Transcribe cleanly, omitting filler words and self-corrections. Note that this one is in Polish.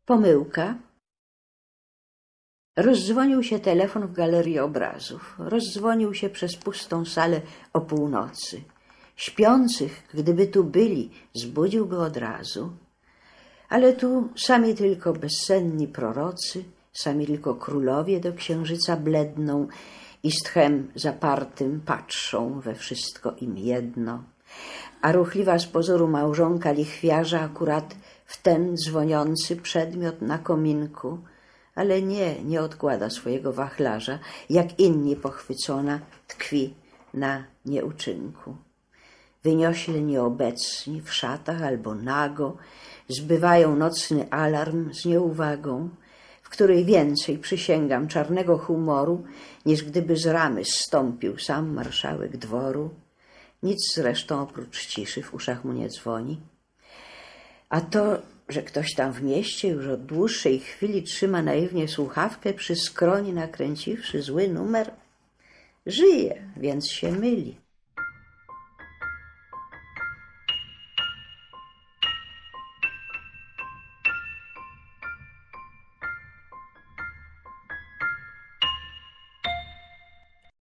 Pomyłka. Rozdzwonił się telefon w galerii obrazów. Rozdzwonił się przez pustą salę o północy. Śpiących, gdyby tu byli, zbudziłby od razu. Ale tu sami tylko bezsenni prorocy, sami tylko królowie do księżyca bledną i z tchem zapartym patrzą we wszystko im jedno. A ruchliwa z pozoru małżonka lichwiarza akurat w ten dzwoniący przedmiot na kominku, ale nie odkłada swojego wachlarza, jak inni pochwycona tkwi na nieuczynku. Wyniośle nieobecni w szatach albo nago zbywają nocny alarm z nieuwagą, w której więcej, przysięgam, czarnego humoru, niż gdyby z ramy zstąpił sam marszałek dworu. Nic zresztą oprócz ciszy w uszach mu nie dzwoni. A to, że ktoś tam w mieście już od dłuższej chwili trzyma naiwnie słuchawkę przy skroni nakręciwszy zły numer, żyje, więc się myli.